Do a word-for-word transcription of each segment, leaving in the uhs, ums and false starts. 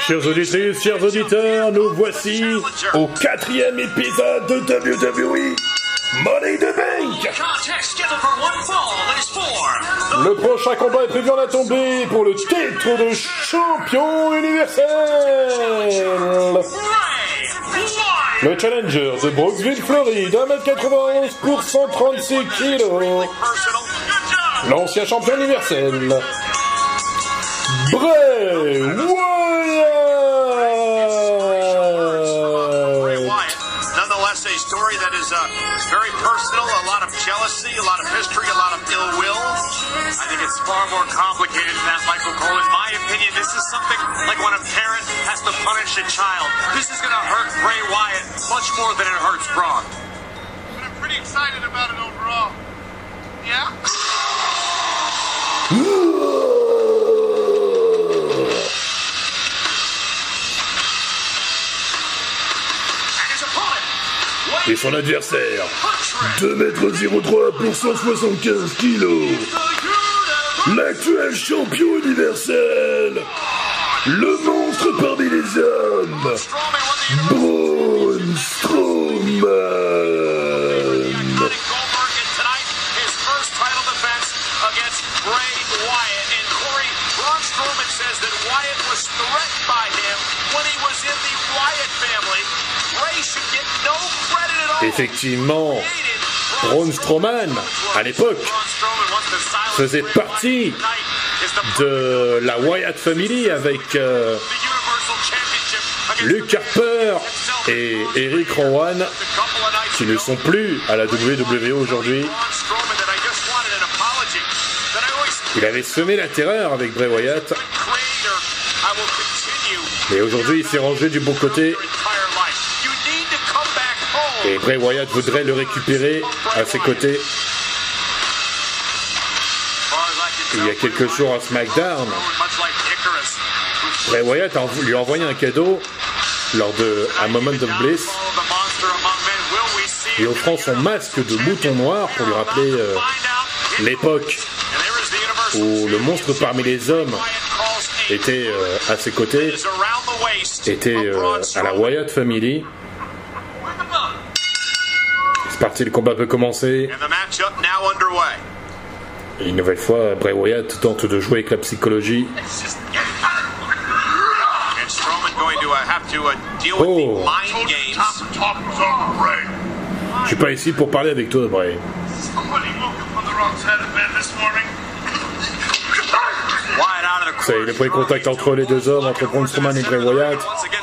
Chères auditrices, chers auditeurs, nous voici au quatrième épisode de W W E Money in the Bank. Le prochain combat est prévu en la tombée pour le titre de champion universel. Le challenger de Brooksville, Floride, un mètre quatre-vingt-onze pour cent trente-six kilos. L'ancien champion universel, Bray Wyatt. Nonetheless, a story that is uh, very personal, a lot of jealousy, a lot of history, a lot of ill will. I think it's far more complicated than that, Michael Cole. In my opinion, this is something like when a parent has to punish a child. This is going to hurt Bray Wyatt much more than it hurts Braun. But I'm pretty excited about it overall. Yeah? Et son adversaire, deux mètres zéro trois pour cent soixante-quinze kilos, l'actuel champion universel, le monstre parmi les hommes, Braun Strowman. Effectivement, Braun Strowman, à l'époque, faisait partie de la Wyatt Family avec euh, Luke Harper et Eric Rowan, qui ne sont plus à la W W E aujourd'hui. Il avait semé la terreur avec Bray Wyatt, mais aujourd'hui il s'est rangé du bon côté. Et Bray Wyatt voudrait le récupérer à ses côtés. Il y a quelques jours à SmackDown, Bray Wyatt a lui a envoyé un cadeau lors de A Moment of Bliss, lui offrant son masque de mouton noir pour lui rappeler euh, l'époque où le monstre parmi les hommes était euh, à ses côtés, était euh, à la Wyatt Family. C'est parti, le combat peut commencer. Et une nouvelle fois, Bray Wyatt tente de jouer avec la psychologie. Oh. Je suis pas ici pour parler avec toi, Bray. Ça y est, le premier contact entre les deux hommes, entre Braun Strowman et Bray Wyatt.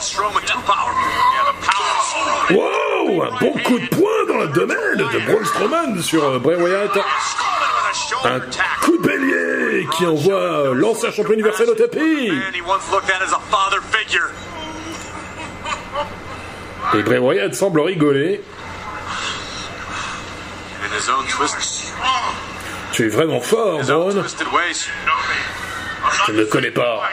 Wow, un bon coup de poing dans l'abdomen de Braun Strowman sur Bray Wyatt. Un coup de bélier qui envoie l'ancien champion universel au tapis. Et Bray Wyatt semble rigoler. Tu es vraiment fort, Braun. Je ne le connais pas.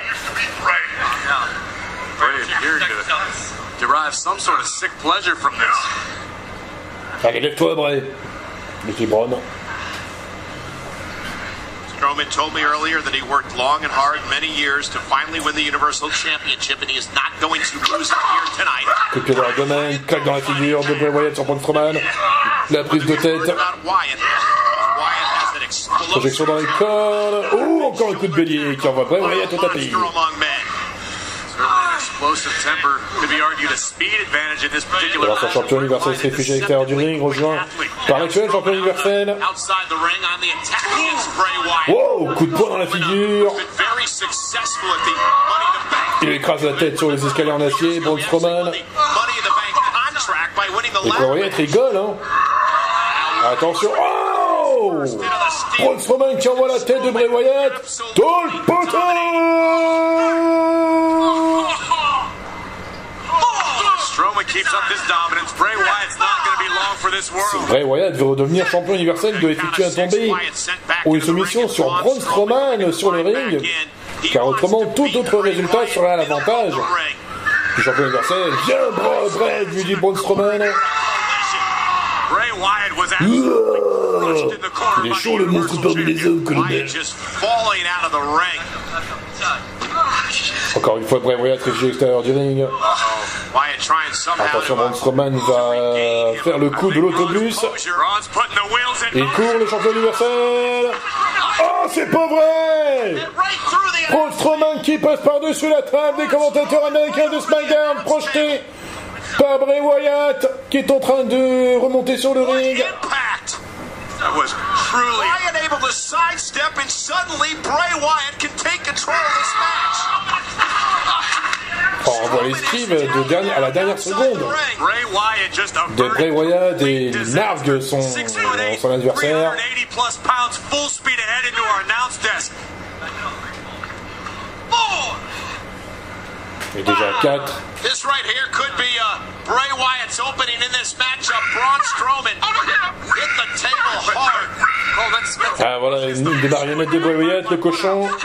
Allez, lève-toi, Bray. Dit Braun. Strowman told me earlier that he worked long and hard many years to finally win the Universal Championship, and he is not going to lose it here tonight. Coup de pied dans l'abdomen, claque dans la figure de Bray Wyatt sur Braun Strowman. La prise de tête. Projection dans les cordes. Oh, encore un coup de bélier qui envoie Bray Wyatt au tapis. L'ancien champion universel se réfugie à l'extérieur du ring, rejoint par l'actuel champion universel. Wow, coup de poing dans la figure. Il écrase la tête sur les escaliers en acier, Braun Strowman. Et Bray Wyatt rigole, hein. Attention, oh, Braun Strowman qui envoie la tête de Bray Wyatt dans le poteau. Si Bray Wyatt veut redevenir champion universel, il doit effectuer un tombé ou une soumission sur Braun Strowman sur le ring, car autrement tout autre résultat sera à l'avantage du champion universel. Viens, Bray, lui dit Braun Strowman. Oh, il est chaud le monstre parmi les hommes, colonel. Encore une fois, Bray Wyatt réfugié à l'extérieur du ring. Attention, Braun Strowman va faire le coup de l'autobus. Il court, le champion universel. Oh, c'est pas vrai! Braun Strowman qui passe par-dessus la table des commentateurs américains de SmackDown, projeté par Bray Wyatt, qui est en train de remonter sur le ring. That was truly Wyatt able to sidestep, and suddenly Bray Wyatt can take control of this match. Oh, on voit l'esquive de dernière, à la dernière seconde de Bray Wyatt et il nargue son, son adversaire. Et déjà quatre. This right here could be uh, Bray Wyatt's opening in this matchup. Braun Strowman hit the table hard. Oh, that's, that's... Ah voilà, une des marionnettes de Bray Wyatt, le cochon. Oh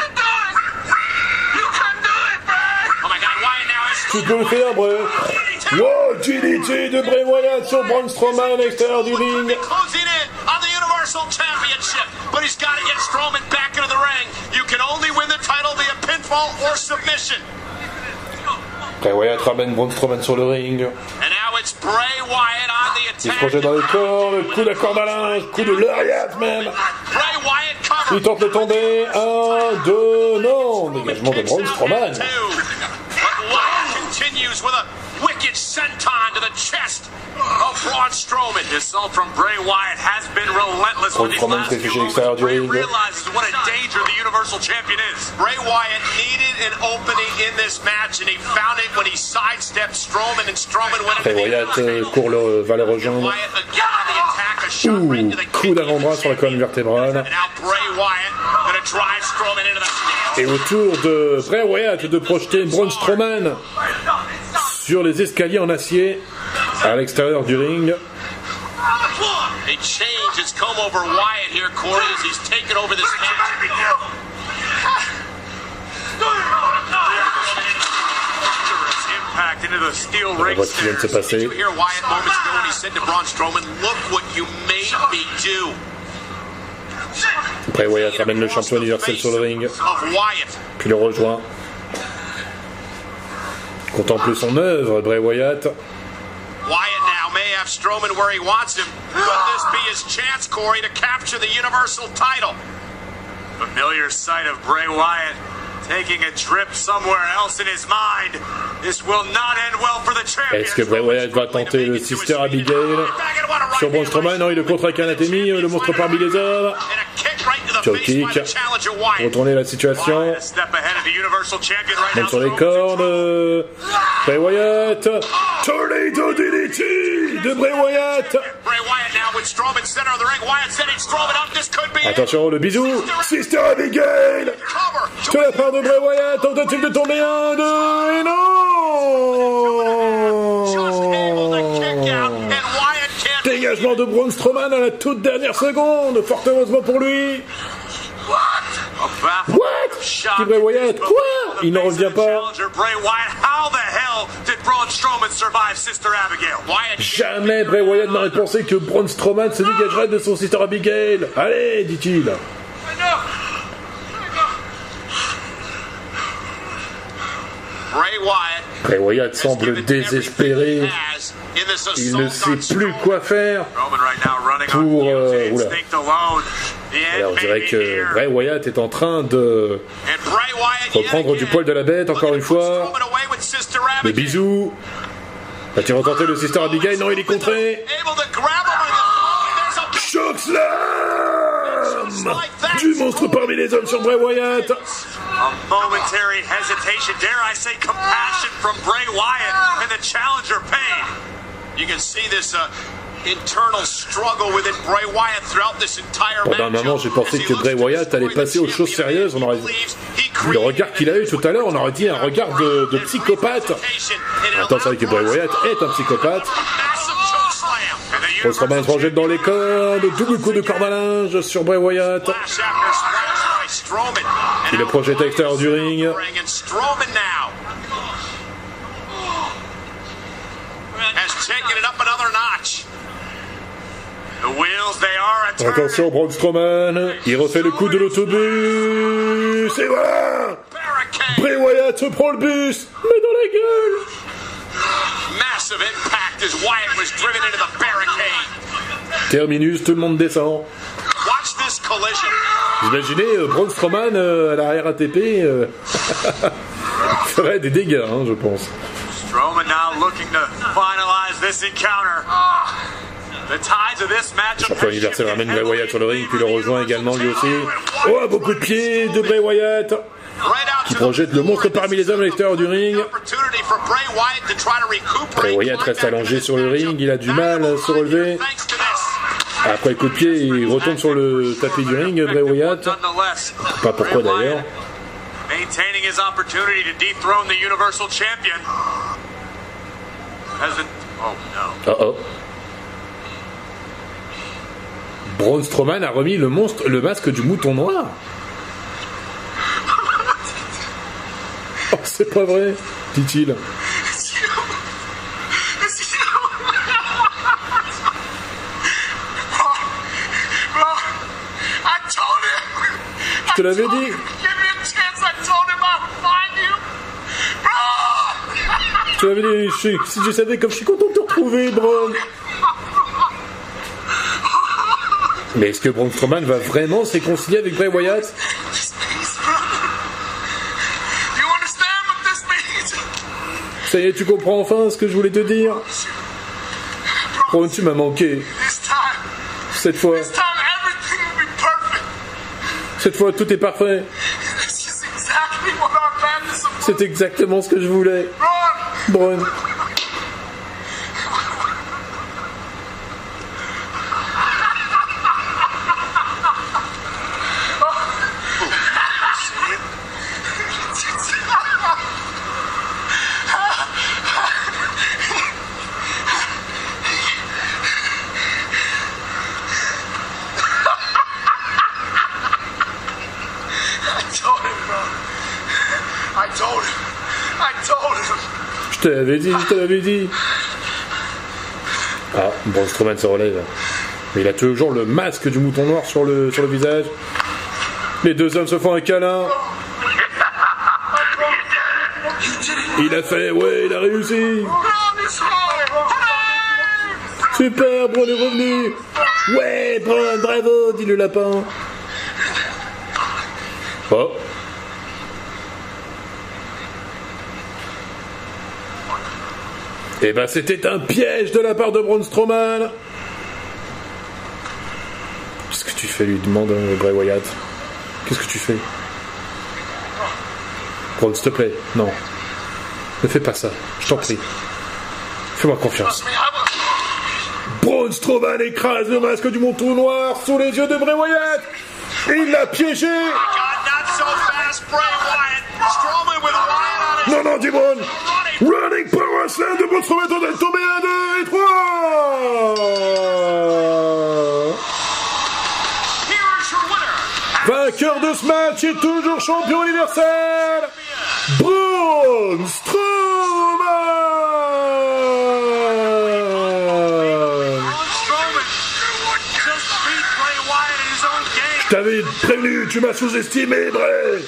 my God, Wyatt now is... Tu peux le faire, Bray. Wow, G D T de Bray Wyatt sur Braun Strowman à l'extérieur du ring. Closing in on the Universal Championship, but he's got to get Strowman back into the ring. You can only win the title via pinfall or submission. Bray Wyatt ramène Braun Strowman sur le ring. Il se projette dans les corps, le coup de la corde à linge, coup de lariat même. Il tente de tomber. Un, deux, non. Dégagement de Braun Strowman. Wicked senton to the chest of Braun Strowman. The assault from Bray Wyatt has been relentless when these last few moments. Bray realizes what a danger the Universal Champion is. Bray Wyatt needed an opening in this match, and he found it when he sidestepped Strowman, and Strowman went Bray Wyatt court le, va le rejoindre. Ouh, coup d'avant-bras sur la colonne vertébrale. Et au tour de Bray Wyatt de projeter Braun Strowman sur les escaliers en acier à l'extérieur du ring. A change has come over Wyatt here, Corey, as he's taken over this match. Impact into the steel ring stairs. Did you hear Wyatt moments ago when he said to Braun Strowman, "Look what you made me do." Bray Wyatt ramène le champion universel sur le ring, puis le rejoint. Contemple son œuvre, Bray Wyatt. Wyatt now may have Strowman where he wants him. Could this be his chance, Corey, to capture the Universal title? Familiar sight of Bray Wyatt taking a trip somewhere else in his mind. This will not end well for the champion. Est-ce que Bray Wyatt va tenter le Sister Abigail sur Braun Strowman? Non, il le contre avec anatomie, le monstre parmi les hommes. Choke kick, retourner la situation. Même sur les cordes. Bray Wyatt. Tornado D D T de Bray Wyatt. Attention, le bisou. Sister Abigail de la part de Bray Wyatt. Tentative de tomber un, deux, et non. Dégagement de Braun Strowman à la toute dernière seconde. Fort heureusement pour lui. What? Dit Bray Wyatt. Quoi? Il n'en revient pas. Jamais Bray Wyatt n'aurait pensé que Braun Strowman se dégagerait de son Sister Abigail. Allez, dit-il. Bray Wyatt semble désespéré. Il ne sait plus quoi faire pour... Euh, oula. Alors, on dirait que Bray Wyatt est en train de reprendre du poil de la bête, encore une fois. Le bisou. Va-t-il retenter le Sister Abigail? Non, il est contré. Choc slam du monstre parmi les hommes sur Bray Wyatt. A momentary hesitation, dare I say compassion from Bray Wyatt and the challenger pain. You can see this uh, internal struggle within Bray Wyatt throughout this entire match. Pendant un moment, j'ai pensé que Bray Wyatt allait passer aux choses sérieuses. On aurait le regard qu'il a eu tout à l'heure, on aurait dit un regard de, de psychopathe. Attends, c'est vrai que Bray Wyatt est un psychopathe. Braun Strowman se projette dans les cordes, double coup de corde à linge sur Bray Wyatt. Il le projette à l'extérieur du ring. Attention, Braun Strowman, il refait le coup de l'autobus, et voilà! Bray Wyatt se prend le bus, mais dans la gueule. Massive impact as Wyatt was driven into the barricade. Terminus, tout le monde descend. Watch this collision. Vous imaginez euh, Braun Strowman euh, à la R A T P euh... ferait des dégâts, hein, je pense. Strowman now looking to finalize this encounter. The tides of this match. Champion universel ramène Bray Wyatt sur le ring, puis le rejoint également lui aussi. Oh, beaucoup de pieds de Bray Wyatt, qui projette le monstre parmi les hommes à l'extérieur du ring. Bray Wyatt reste allongé sur le ring, il a du mal à se relever. Après le coup de pied, il retombe sur le tapis du ring, Bray Wyatt. Pas pourquoi d'ailleurs. Maintaining his opportunity to dethrone the Universal Champion. As it... Oh no. Oh oh. Braun Strowman a remis le monstre, le masque du mouton noir. Oh, c'est pas vrai, dit-il. Je te l'avais dit. Je te l'avais dit, je, si je savais comme je suis content de te retrouver, Braun. Mais est-ce que Braun Strowman va vraiment se réconcilier avec Bray Wyatt? Ça y est, tu comprends enfin ce que je voulais te dire? Braun, tu m'as manqué. Cette fois. Cette fois, tout est parfait. C'est exactement ce que je voulais. Braun. Je te l'avais dit, je te l'avais dit. Ah, Braun Strowman se relève. Mais il a toujours le masque du mouton noir sur le, sur le visage. Les deux hommes se font un câlin. Il a fait, ouais, il a réussi. Super, Braun est revenu. Ouais, Braun, bravo, dit le lapin. Oh. Eh ben, c'était un piège de la part de Braun Strowman. Qu'est-ce que tu fais, lui demande euh, Bray Wyatt. Qu'est-ce que tu fais? Braun, s'il te plaît, non. Ne fais pas ça, je t'en prie. Fais-moi confiance. Braun Strowman écrase le masque du mouton noir sous les yeux de Bray Wyatt. Il l'a piégé. Non, non, dis Braun. Running Power Slam de Braun Strowman est tombé un, deux et trois. Vainqueur de ce match et toujours champion universel, Braun Strowman. Je t'avais prévenu, tu m'as sous-estimé, Bray.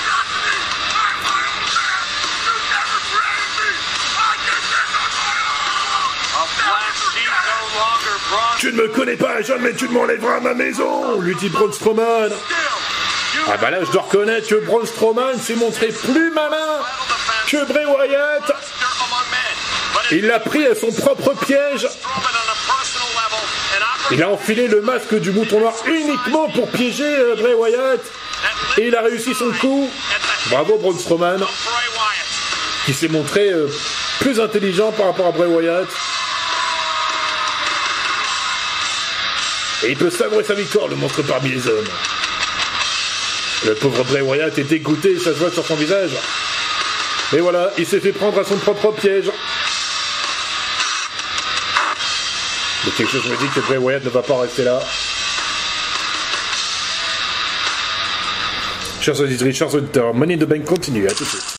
Tu ne me connais pas, jamais tu ne m'enlèveras à ma maison, lui dit Braun Strowman. Ah bah là, je dois reconnaître que Braun Strowman s'est montré plus malin que Bray Wyatt. Il l'a pris à son propre piège. Il a enfilé le masque du mouton noir uniquement pour piéger Bray Wyatt. Et il a réussi son coup. Bravo Braun Strowman, qui s'est montré euh, plus intelligent par rapport à Bray Wyatt. Et il peut savourer sa victoire, le monstre parmi les hommes. Le pauvre Bray Wyatt est dégoûté, ça se voit sur son visage. Et voilà, il s'est fait prendre à son propre piège. Mais quelque chose me dit que Bray Wyatt ne va pas rester là. Chers auditeurs, chers auditeurs, Money in the Bank continue, à tout de suite.